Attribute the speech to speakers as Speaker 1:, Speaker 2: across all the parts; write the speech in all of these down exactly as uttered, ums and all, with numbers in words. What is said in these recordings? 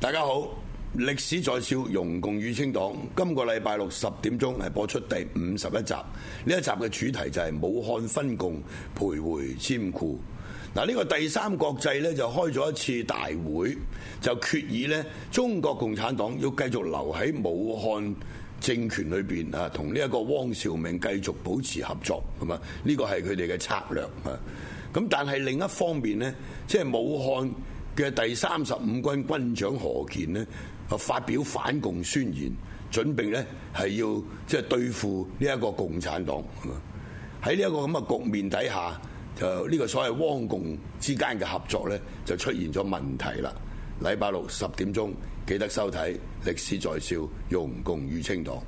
Speaker 1: 大家好，歷史在笑，容共與清黨。今個禮拜六十點鐘係播出第五十一集。呢一集嘅主題就係武漢分共，徘徊佔庫。嗱，呢個第三國際呢，就開咗一次大會，就決議呢中國共產黨要繼續留喺武漢政權裏邊啊，同呢一個汪兆銘繼續保持合作，係嘛？呢個係佢哋嘅策略啊。咁但係另一方面呢，即係武漢嘅第三十五軍軍長何健呢，啊發表反共宣言，準備呢係要即係對付呢一個共產黨。喺呢一個咁嘅局面底下，就呢個所謂汪共之間嘅合作呢，就出現咗問題啦。禮拜六十點鐘記得收睇《歷史在笑，容共與清黨》。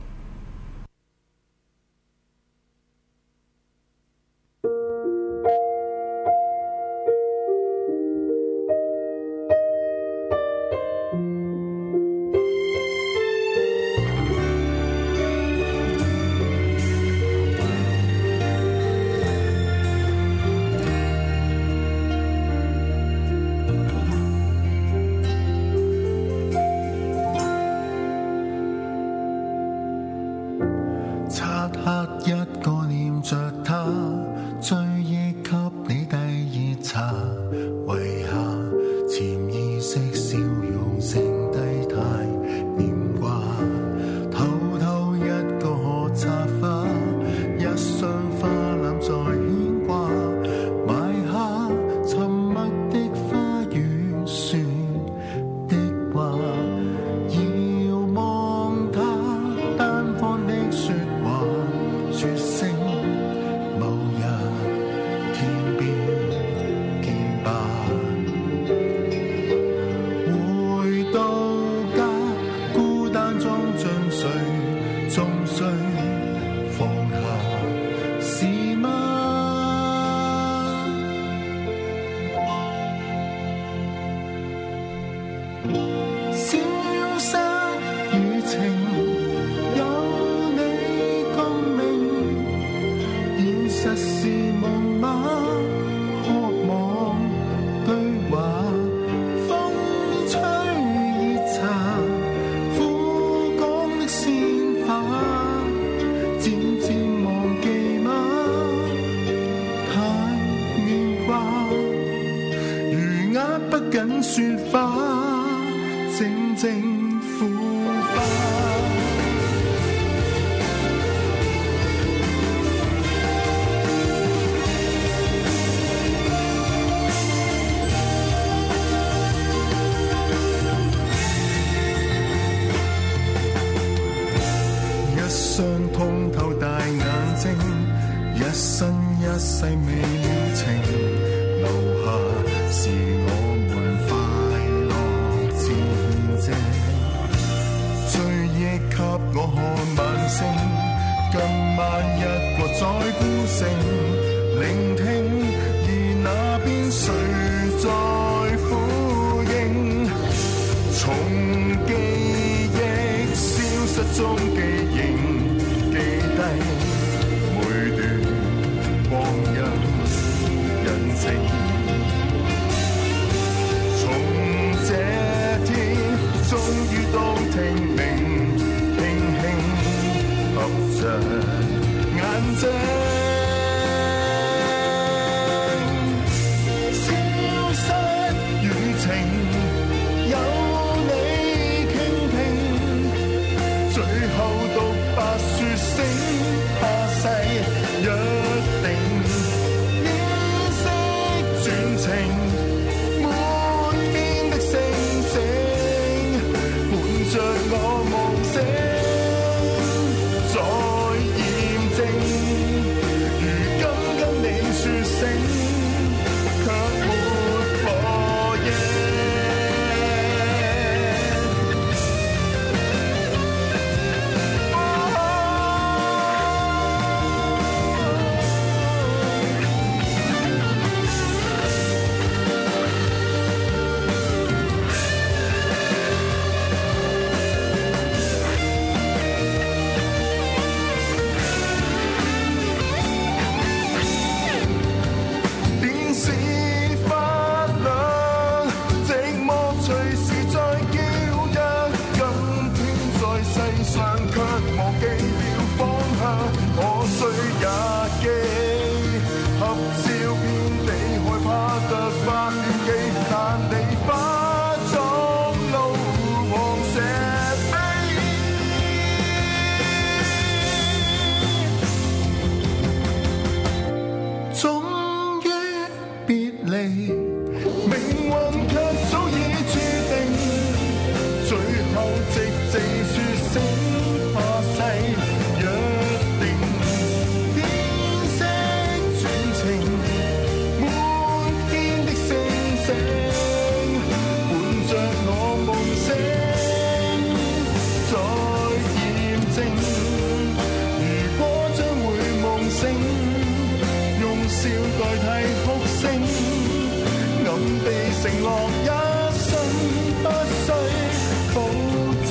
Speaker 2: 最後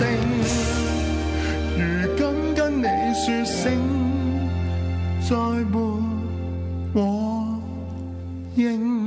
Speaker 2: 聲，如今跟你說聲，再沒我應。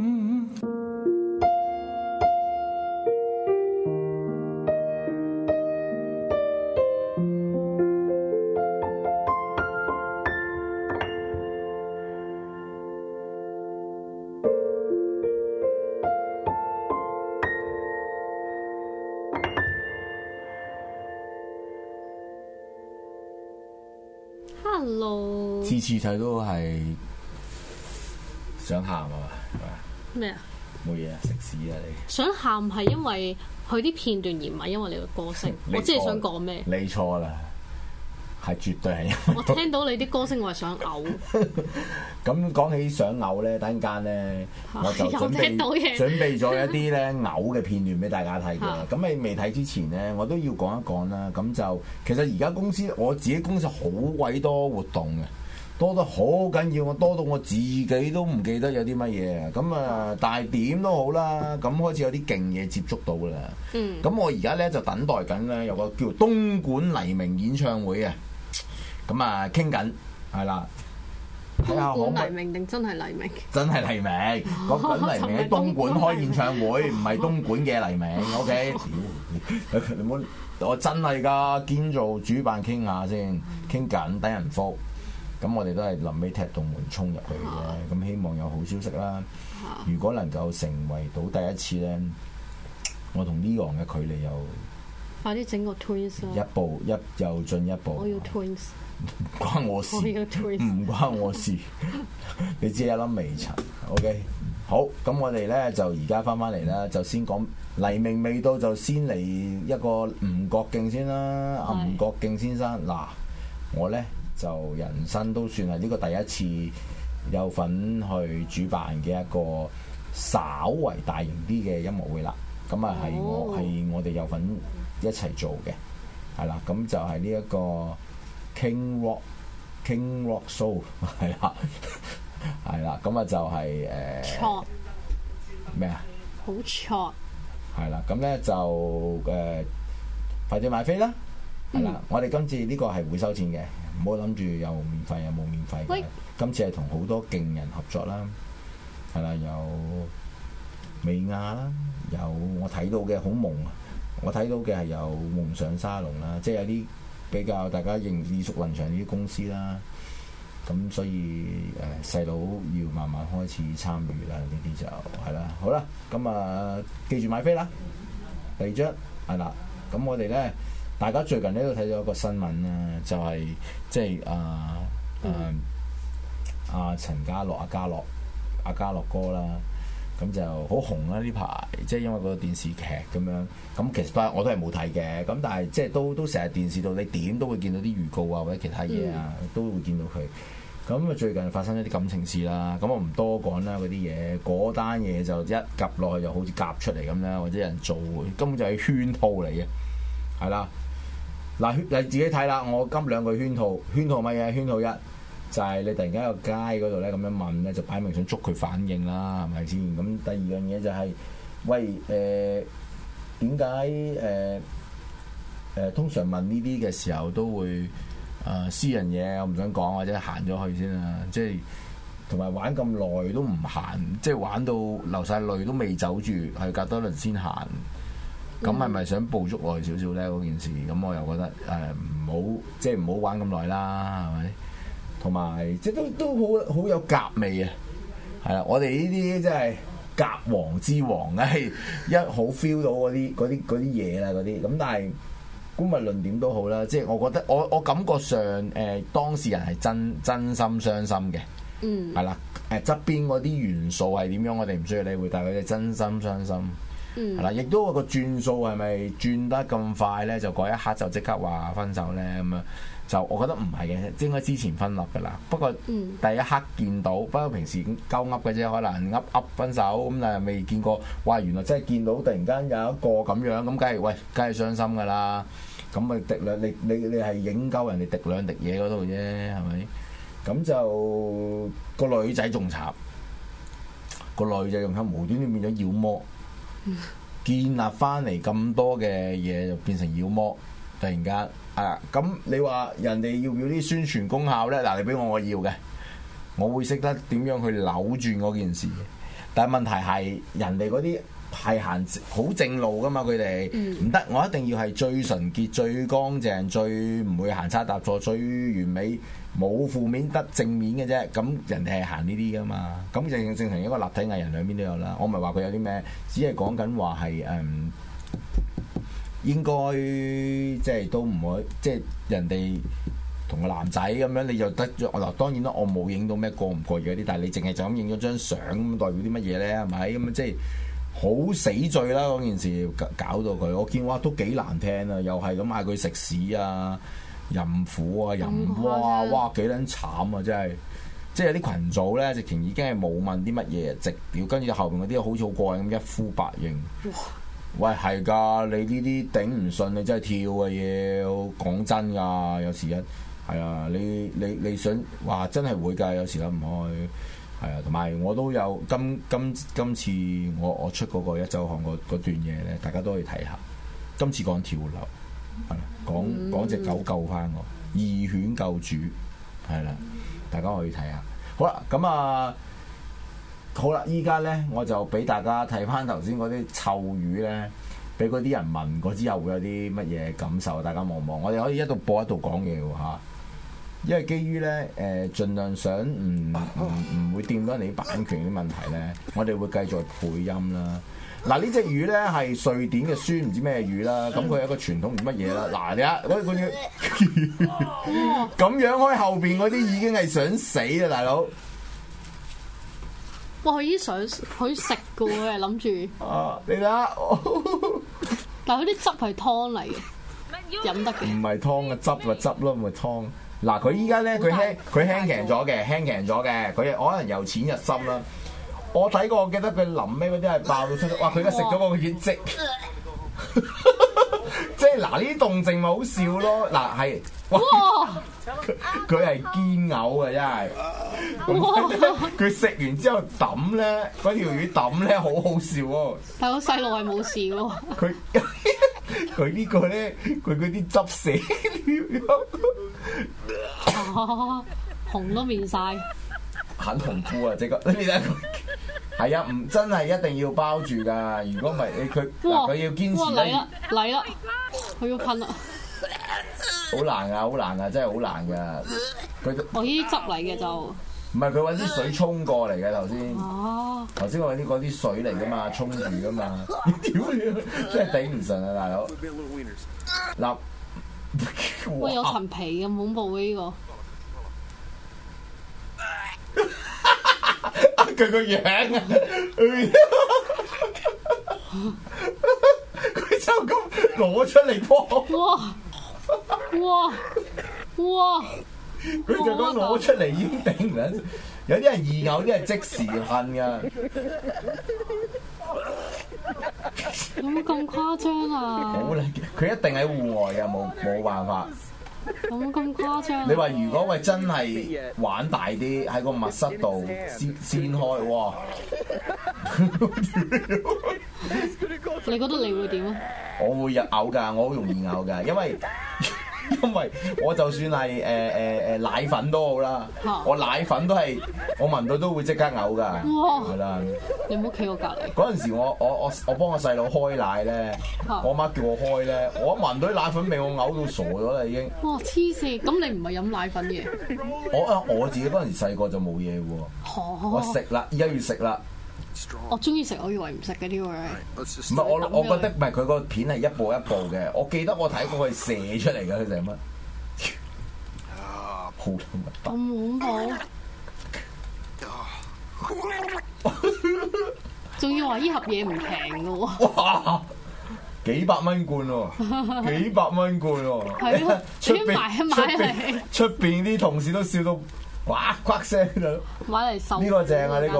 Speaker 3: Hello，
Speaker 4: 次次睇都係想喊啊嘛，
Speaker 3: 咩啊？
Speaker 4: 冇嘢啊，食屎啊你！
Speaker 3: 想喊係因為佢啲片段而唔係因為你個歌聲。我知你想講咩？
Speaker 4: 你錯啦，係絕對係因為
Speaker 3: 我聽到你啲歌聲，我係想嘔。
Speaker 4: 咁講起想嘔咧，等陣間咧我就準備準備咗一啲咧嘔嘅片段俾大家睇嘅。咁你未睇之前咧，我都要講一講啦。咁就其實而家公司我自己公司好鬼多活動嘅。多得好緊要，我多到我自己都唔記得有啲乜嘢。咁啊，但係點都好啦，咁開始有啲勁嘢接觸到啦。嗯。咁我而家咧就等待緊咧，有個叫東莞黎明演唱會嘅。咁啊，傾緊係啦。
Speaker 3: 東莞黎明定真係黎明？
Speaker 4: 真係黎明，講緊黎明喺東莞開演唱會，唔係東莞嘅黎明。O K，你唔好，我真係㗎，堅做主辦傾下先，傾緊等人覆。咁我哋都係臨尾踢動門衝入去嘅，咁希望有好消息啦。如果能夠成為到第一次咧，我同 Leon 嘅距離又
Speaker 3: 快啲整個 twins 啦！
Speaker 4: 一步一又進一步。我要
Speaker 3: twins，
Speaker 4: 唔關我事，唔關我事。你只係一粒微塵。OK， 好，咁我哋咧就而家翻翻嚟啦，就先講黎明未到，就先嚟一個吳國敬先啦。阿吳國敬先生，嗱，我咧。就人生都算係呢個第一次有份去主辦嘅一個稍為大型啲嘅音樂會啦。咁啊係我係我哋有份一齊做嘅，係啦。咁就係呢一個 King Rock King Rock Show 係啦，係啦。咁啊就係誒咩啊？好 short 係啦。咁咧就誒、呃、快啲買飛啦，係啦。嗯、我哋今次呢個係會收錢嘅。唔好諗住有免費有冇免費嘅，喂今次係同好多勁人合作啦，係啦，有美亞啦，有我睇到嘅好夢啊，我睇到嘅係有夢想沙龍啦，即係有啲比較大家認耳熟能詳啲公司啦，咁所以誒細佬要慢慢開始參與啦，呢啲就係啦，好啦，咁啊記住買飛啦，第二張係啦，咁我哋咧。大家最近咧都睇咗一個新聞啦，就係、是、即係啊啊阿陳家樂、阿家樂、阿家樂哥啦，咁就好紅啦呢排，即係因為個電視劇咁樣。咁其實都係我都係冇睇嘅，咁但係即係都都成日電視度，你點都會見到啲預告啊，或者其他嘢啊，嗯、都會見到佢。咁啊最近發生一啲感情事啦，咁我唔多講啦嗰啲嘢，嗰單嘢就一夾落去就好似夾出嚟咁啦，或者有人做，根本就係圈套嚟嘅，係啦。嗱，你自己睇啦，我今兩個圈套，圈套乜嘢？圈套一就係、是、你突然間喺個街嗰度咧咁樣問咧，就擺明想捉佢反應啦，係咪先？咁第二樣嘢就係、是，喂誒點解誒誒通常問呢啲嘅時候都會誒、呃、私人嘢，我唔想講或者行咗去先啊，即係同埋玩咁耐都唔行，即係玩到流晒淚都未走住，係隔多輪先行。咁係咪想捕捉耐少少咧？嗰件事咁我又覺得誒唔好，即係唔好玩咁耐啦，係咪？同埋即係都都好好有夾味啊！係啦，我哋呢啲即係夾王之王啊，一好 feel 到嗰啲嗰啲嗰啲嘢啦，嗰啲咁。但係姑勿論點都好啦，即係我覺得我我感覺上誒、呃、當事人係真真心傷心嘅，嗯，係啦，誒側邊嗰啲元素係點樣，我哋唔需要理會，但係佢哋真心傷心。係啦，亦、嗯、都個轉數係咪轉得咁快咧？就嗰一刻就即刻話分手咧咁樣，就我覺得唔係嘅，應該之前分立㗎啦。不過第一刻見到，不過平時鳩噏嘅啫，可能噏噏分手咁，但係未見過。哇！原來真係見到突然間有一個咁樣，咁梗係喂，梗係傷心㗎啦。咁咪滴兩，你你你係影鳩人哋滴兩滴嘢嗰度啫，係咪？咁就個女仔仲慘，個女仔仲喺無端端變咗妖魔。 建立翻嚟咁多嘅嘢，就變成妖魔，突然間啊！咁你話人哋要唔要啲宣傳功效咧？嗱，你俾我我要嘅，我會識得點樣去扭轉嗰件事。但係問題係人哋嗰啲係行好正路噶嘛，佢哋唔得，我一定要係最純潔、最乾淨、最唔會行差踏錯、最完美，冇負面得正面嘅啫。咁人哋係行呢啲噶嘛，咁正正成一個立體藝人兩邊都有啦。我唔係話佢有啲咩，只係講緊話係誒應該即係都唔會，即係人哋同個男仔咁樣，你就得咗嗱。當然啦，我冇影到咩過唔過癮嗰啲，但係你淨係就咁影咗張相，咁代表啲乜嘢咧？係咪咁即係好死罪啦！嗰件事搞到佢，我見哇都幾難聽啊！又係咁嗌佢食屎啊、淫婦啊、淫哇哇幾撚慘啊！真係，即係有啲群組咧，直情已經係冇問啲乜嘢，直屌跟住後邊嗰啲好似好過癮咁一呼百應。喂，係㗎，你呢啲頂唔順，你真係跳嘅嘢。講真㗎，有時一係啊，你你你想話真係會㗎，有時諗唔開。係啊，同埋我都有今今今次我我出嗰個一週刊嗰段嘢咧，大家都可以睇下。今次講跳樓，係啦，講講隻狗救翻我，義犬救主，係啦，大家可以睇下。好啦，咁啊。好啦，依家咧我就俾大家睇翻頭先嗰啲臭語咧，俾嗰啲人聞過之後會有啲乜嘢感受？大家望望，我哋可以一度播一度講嘢喎嚇。因為基於咧誒、呃，盡量想唔唔唔會掂到人哋啲版權啲問題咧，我哋會繼續配音啦。嗱，呢隻魚咧係瑞典嘅酸唔知咩魚啦，咁佢有一個傳統唔乜嘢啦。嗱，你睇嗰嗰啲咁樣開後邊嗰啲已經係想死啦，大佬。
Speaker 3: 哇！佢已經想佢食嘅喎，諗住。
Speaker 4: 啊！你睇下，
Speaker 3: 但係佢啲汁係湯嚟嘅，飲得嘅。
Speaker 4: 唔係湯嘅汁咪汁咯，咪湯。嗱，佢依家咧，佢輕佢輕強咗嘅，輕強咗嘅。佢可能由淺入深啦。我睇過，我記得佢臨尾嗰啲係爆到出嚟。哇！佢而家食咗個血跡。即係嗱，呢啲動靜咪好笑咯。嗱係，哇！佢係堅嘔嘅，真係。佢食完之後抌咧，嗰條魚抌咧，好好笑喎。
Speaker 3: 但係個細路係冇事喎。
Speaker 4: 佢佢呢個咧，佢嗰啲汁死
Speaker 3: 了。紅都面晒。
Speaker 4: 很紅褲啊！即刻，你睇佢。係啊，唔真係一定要包住㗎。如果唔係，你佢佢要堅持
Speaker 3: 嚟啦嚟啦，佢要噴啦。
Speaker 4: 好難㗎，好難㗎，真係好難㗎。佢
Speaker 3: 我呢啲汁嚟嘅就
Speaker 4: 唔係佢揾啲水沖過嚟嘅頭先。
Speaker 3: 哦，
Speaker 4: 頭先我揾啲嗰啲水嚟㗎嘛，沖住㗎嘛。屌你，真係頂唔順啊，大佬。嗱，
Speaker 3: 喂，有層皮咁恐怖嘅呢個。
Speaker 4: 佢個樣啊！佢就咁攞出嚟幫。
Speaker 3: 哇！哇！哇！
Speaker 4: 佢就咁攞出嚟已經頂唔緊，有啲人易嘔，啲係即時恨㗎。
Speaker 3: 有冇咁誇張啊？
Speaker 4: 好啦，佢一定喺戶外㗎，冇冇辦法。
Speaker 3: 有冇咁誇張？
Speaker 4: 你話如果喂真係玩大啲，喺個密室度先先開，哇！
Speaker 3: 你覺得你會點啊？
Speaker 4: 我會有嘔㗎，我好容易嘔㗎，因為因為我就算係誒誒誒奶粉都好啦，我奶粉都係我聞到都會即刻嘔㗎，係啦。
Speaker 3: 你唔好企我隔離。
Speaker 4: 嗰陣時我我我我幫我細佬開奶咧，我媽叫我開咧，我一聞到啲奶粉味，我嘔到傻咗啦已經。
Speaker 3: 哇！黐線，咁你唔係飲奶粉嘅？
Speaker 4: 我啊我自己嗰陣時細個就冇嘢喎，我食啦，而家要食啦。
Speaker 3: 我中意食，我以為唔食嘅呢個。
Speaker 4: 唔係我我覺得唔係佢個片係一步一步嘅，我記得我睇過佢射出嚟嘅，佢成乜？好
Speaker 3: 咁恐怖！仲要話呢盒嘢唔平嘅喎。
Speaker 4: 哇！幾百蚊罐喎，幾百蚊罐喎。
Speaker 3: 係咯，
Speaker 4: 出
Speaker 3: 邊買一買嚟。
Speaker 4: 出邊啲同事都笑到呱呱聲㗎。
Speaker 3: 買嚟受。
Speaker 4: 呢個正啊！呢個。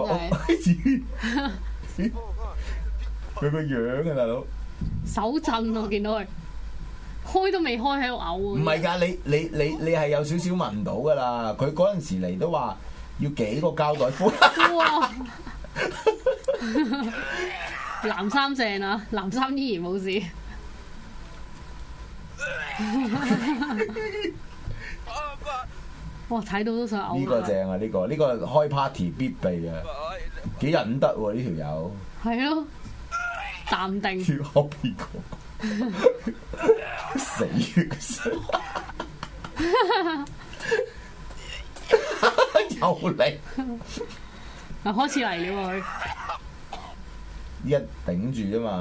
Speaker 4: 佢個樣啊，大佬。
Speaker 3: 手震我見到佢，開都未開喺度嘔。
Speaker 4: 唔係㗎，你你你你係有少少聞到㗎啦。佢嗰陣時嚟都話要幾個膠袋敷。哇！
Speaker 3: 藍衫正啊，藍衫依然冇事。哇！睇到都想嘔。
Speaker 4: 呢個正啊！呢、呢個呢、呢個開 party 必備啊！幾忍得喎呢條友。係
Speaker 3: 咯，淡定。
Speaker 4: 跳 happy 個死死。又嚟。
Speaker 3: 嗱，開始嚟了佢。
Speaker 4: 依家頂住啫嘛。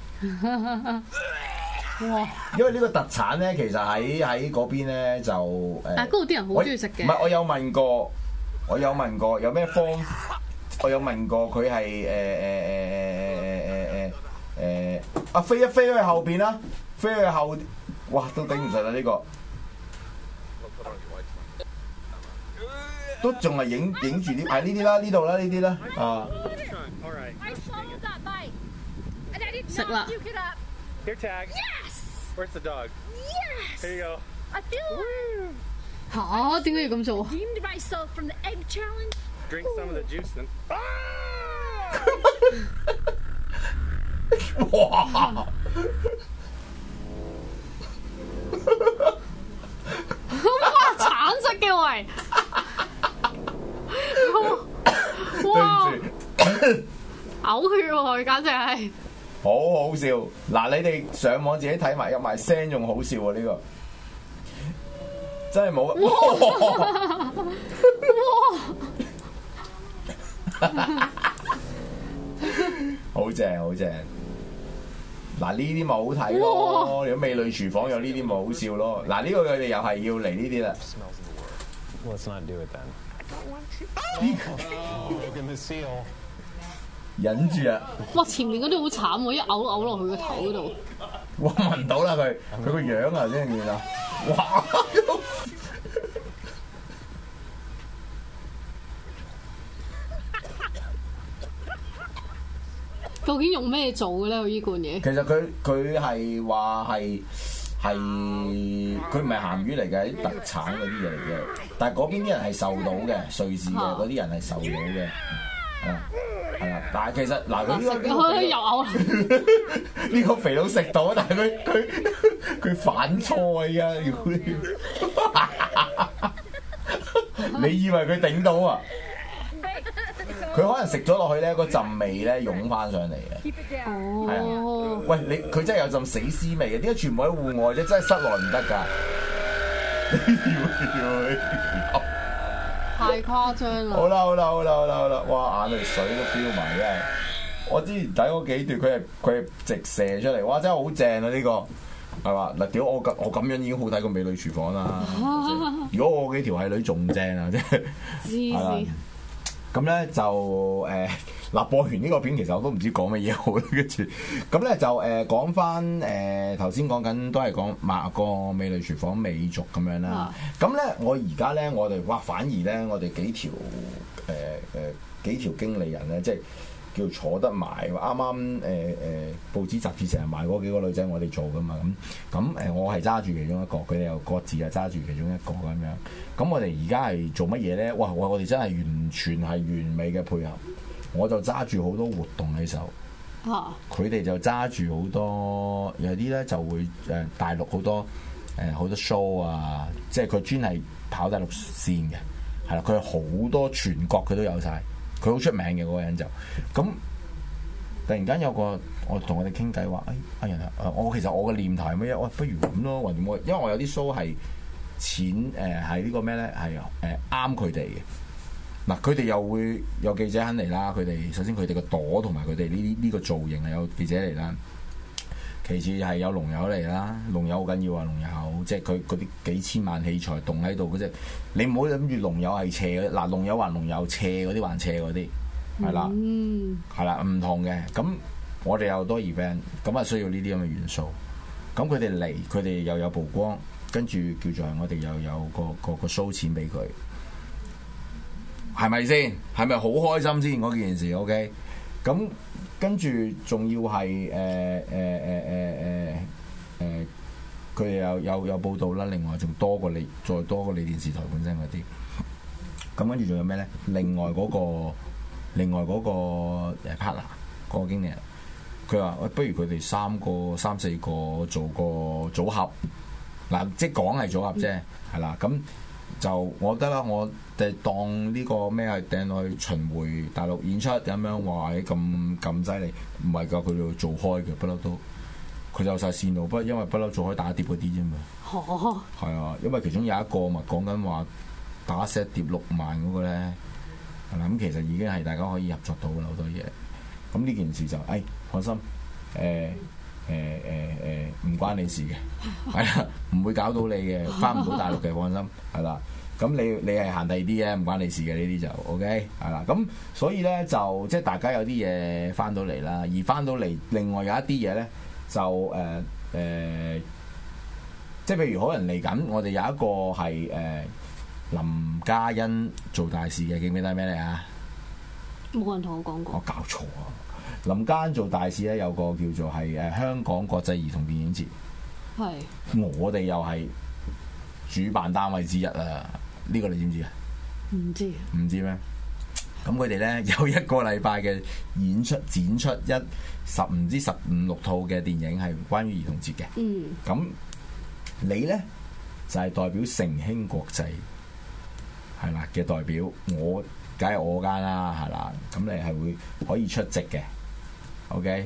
Speaker 3: 哇！
Speaker 4: 因為呢個特產咧，其實喺喺嗰邊咧就誒，
Speaker 3: 但係嗰度啲人好中意食嘅。
Speaker 4: 唔係，我有問過，我有問過有咩方，我有問過佢係誒誒誒誒誒誒誒啊飛一飛去後邊啦，飛去後，哇都頂唔順啦呢個，都仲係影影住啲係呢啲啦，呢度啦呢啲啦啊！
Speaker 3: 食啦。
Speaker 5: Here, tag. Yes. Where's the dog?
Speaker 6: Yes.
Speaker 5: Here you go.
Speaker 6: I feel like.
Speaker 3: 嚇？點解要咁做
Speaker 6: Redeemed myself from the egg challenge.
Speaker 5: Drink some of the juice then.
Speaker 4: 哇！
Speaker 3: 哇！橙色嘅喂。哇！嘔血喎，簡直係。
Speaker 4: 好好笑！嗱，你哋上網自己睇埋，有埋聲仲好笑喎！呢、呢個真係冇好正好正！嗱，呢啲咪好睇咯，如果美女廚房有呢啲咪好笑咯。嗱，呢個佢哋又係要嚟呢啲啦。
Speaker 5: Let's not do it then.
Speaker 4: 忍住啊！
Speaker 3: 哇！前面嗰啲好慘喎，一嘔嘔落去個頭嗰度。
Speaker 4: 哇！聞到啦佢，佢個樣啊先見啊！哇！
Speaker 3: 究竟用咩做嘅咧？佢呢罐嘢？
Speaker 4: 其實佢佢係話係係佢唔係鹹魚嚟嘅，啲特產嗰啲嘢嚟嘅。但係嗰邊啲人係受到嘅，瑞士嘅嗰啲人係受到嘅。係啊，係啊，但係其實嗱，佢呢個呢個
Speaker 3: 又嘔
Speaker 4: 呢個肥佬食到，但係佢佢佢反菜啊！你以為佢頂到啊？佢可能食咗落去咧，嗰陣味咧湧翻上嚟嘅。
Speaker 3: 哦，
Speaker 4: 係啊，喂，你佢真係有陣死屍味嘅，點解全部喺戶外啫？真係室內唔得㗎。
Speaker 3: 太誇張啦！
Speaker 4: 好啦好啦好啦好啦好啦，哇眼淚水都飆埋真係！我之前睇嗰幾段，佢係佢係直射出嚟，哇真係好正啊！呢、呢個係嘛嗱？屌我咁我咁樣已經好睇過美女廚房啦！如果我幾條係女仲正啊！即係係啦。咁咧就誒嗱、呃、播完呢個片，其實我都唔知講乜嘢好啦。跟住咁咧就誒講翻誒頭先講緊都係講馬個美女廚房美族咁樣啦。咁咧、啊、我而家咧我哋哇反而咧我哋幾條誒誒、呃呃、幾條經理人咧，即係叫坐得埋。啱啱誒誒報紙雜誌成日賣嗰幾個女仔，我哋做噶嘛咁咁誒，我係揸住其中一個，佢哋又各自啊揸住其中一個咁樣。咁我哋而家係做乜嘢咧？哇！我我哋真係完全係完美嘅配合。我就揸住好多活動喺手，佢哋、啊、就揸住好多，有啲咧就會誒大陸好多誒好多 show 啊，即係佢專係跑大陸線嘅，係啦，佢好多全國佢都有晒，佢好出名嘅嗰個人就咁。突然間有個我同我哋傾偈話，誒阿人啊，我其實我嘅念頭係乜嘢？喂，不如咁咯，或點我，因為我有啲 show 係錢誒係呢個咩咧？係誒啱佢哋嘅。嗱，佢哋又會有記者肯嚟啦。佢哋首先佢哋個朵同埋佢哋呢啲呢個造型係有記者嚟啦。其次係有龍友嚟啦，龍友好緊要啊！龍友即係佢嗰啲幾千萬器材棟喺度嗰隻，你唔好諗住龍友係斜嘅。嗱，龍友還龍友，斜嗰啲還斜嗰啲，係啦，係啦、嗯，唔同嘅。咁我哋有好多 event，咁啊需要呢啲咁嘅元素。咁佢哋嚟，佢哋又有曝光，跟住叫做我哋又有個個個 show 錢俾佢。係咪先？係咪好開心先嗰件事 ？OK，咁跟住仲要係誒誒誒誒誒誒，佢、呃、哋、呃呃、有有有報道啦。另外仲多過你，再多過你電視台本身嗰啲。咁跟住仲有咩咧？另外嗰、嗰個，另外嗰個誒 partner 嗰個經理人， 佢話：喂，不如佢哋三個、三四個做個組合，嗱，即係講係組合啫，係啦。咁就我覺得啦，我哋當呢個咩係掟落去巡迴大陸演出咁樣，話咁咁犀利，唔係㗎，佢哋做開嘅，不嬲都。佢就晒線路，不過因為不嬲做開打碟嗰啲啫嘛。
Speaker 3: 哦。係
Speaker 4: 啊，因為其中有一個咪講緊話打 set 碟六萬嗰個咧，係啦，咁其實已經係大家可以合作到啦好多嘢。咁呢件事就誒、哎、放心，誒誒誒誒唔關你事嘅，係啦，唔會搞到你嘅，翻唔到大陸嘅，放心，係啦。咁你你係行第二啲嘅，唔關你事嘅呢啲就 OK，係啦。咁所以咧就即係大家有啲嘢翻到嚟啦，而翻到嚟另外有一啲嘢咧。就誒誒、呃呃，即係譬如可能嚟緊，我哋有一個係誒、呃、林嘉欣做大事嘅，記唔記得咩嚟啊？
Speaker 3: 冇人同我講過。
Speaker 4: 我搞錯啊！林嘉欣做大事咧，有個叫做係誒香港國際兒童電影節。係是。我哋又係主辦單位之一啊！呢、呢個你知唔知啊？
Speaker 3: 唔知。唔
Speaker 4: 知咩？咁佢哋咧有一個禮拜嘅演出展出一十唔知十五六套嘅電影係關於兒童節嘅。嗯。咁你咧就係、是、代表成興國際係啦嘅代表，我梗係我間啦，係啦。咁你係會可以出席嘅。OK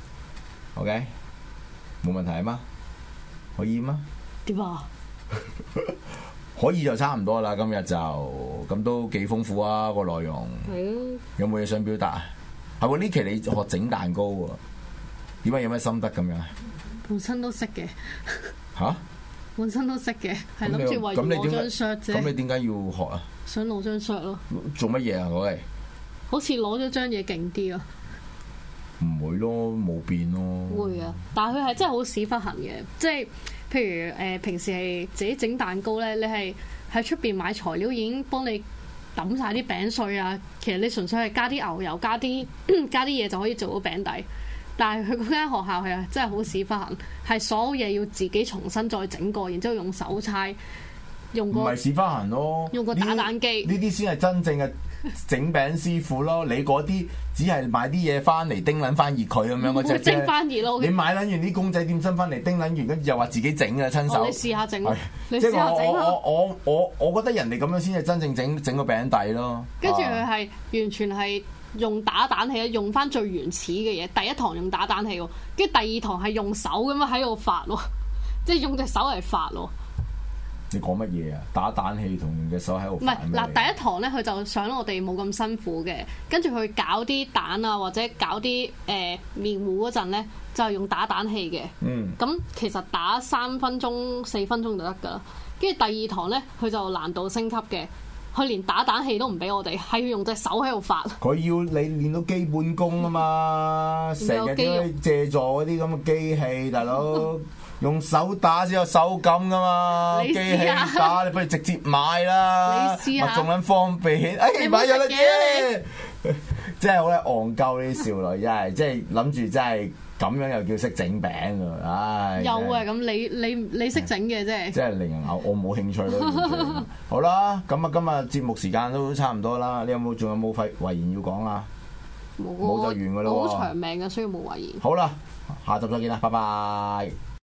Speaker 4: OK 冇問題啊嘛？可以嗎？
Speaker 3: 點啊？
Speaker 4: 可以就差唔多啦，今日就咁都幾豐富啊個內容。係啊。有冇嘢想表達啊？係喎，呢期你學整蛋糕喎，點解有咩心得咁樣啊？
Speaker 3: 本身都識嘅。
Speaker 4: 吓？本
Speaker 3: 身都識嘅，係諗住為攞張 shirt 啫。
Speaker 4: 咁你點解要學啊？
Speaker 3: 想攞張 shirt 咯。
Speaker 4: 做乜嘢啊？嗰位？
Speaker 3: 好似攞咗張嘢勁啲啊！
Speaker 4: 唔會咯，冇變咯。
Speaker 3: 會啊，但係佢係真係好屎忽痕嘅，即係。譬如誒、呃，平時係自己整蛋糕咧，你係喺出邊買材料已經幫你揼晒啲餅碎啊。其實你純粹係加啲牛油、加啲加啲嘢就可以做到餅底。但係佢嗰間學校係啊，真係好屎忽痕，係所有嘢要自己重新再整過，然之後用手搓，用個唔
Speaker 4: 係屎忽痕咯，
Speaker 3: 用個打蛋機。呢
Speaker 4: 啲先係真正嘅整餅師傅咯。你嗰啲只係買啲嘢翻嚟叮撚翻熱佢咁樣嗰隻啫。
Speaker 3: 蒸翻熱咯。你
Speaker 4: 買撚完啲公仔點心翻嚟叮撚完，跟住又話自己整嘅親手。
Speaker 3: 哦、你試下整，
Speaker 4: 哎、
Speaker 3: 你試下整
Speaker 4: 我我我我我覺得人哋咁樣先係真正整整個餅底咯。
Speaker 3: 跟住佢係完全係用打蛋器，用翻最原始嘅嘢。第一堂用打蛋器喎，跟住第二堂係用手咁樣喺度發喎，即係用隻手嚟發喎。
Speaker 4: 你講乜嘢啊？打蛋器同隻手喺度。
Speaker 3: 唔係嗱，第一堂咧，佢就想我哋冇咁辛苦嘅，跟住佢搞啲蛋啊，或者搞啲誒、呃、麵糊嗰陣咧，就係用打蛋器嘅。嗯。咁其實打三分鐘、四分鐘就得㗎啦。跟住第二堂咧，佢就難度升級嘅，佢連打蛋器都唔俾我哋，係要用隻手喺度發。佢
Speaker 4: 要你練到基本功啊嘛，成日都要借助嗰啲咁嘅機器，大佬。用手打先有手感噶嘛，機器打你不如直接買啦，咪仲撚方便。哎，買咗啦啫，真係好咧戇鳩啲少女，真係即係諗住真係咁樣又叫識整餅啊！唉，
Speaker 3: 有啊，咁你你你識整嘅啫，
Speaker 4: 即係令人咬，我冇興趣咯。好啦，咁啊今日節目時間都差唔多啦，你有冇仲有冇廢遺言要講啊？冇，冇就完噶啦喎，
Speaker 3: 好長命嘅，所以冇遺言。
Speaker 4: 好啦，下集再見啦，拜拜。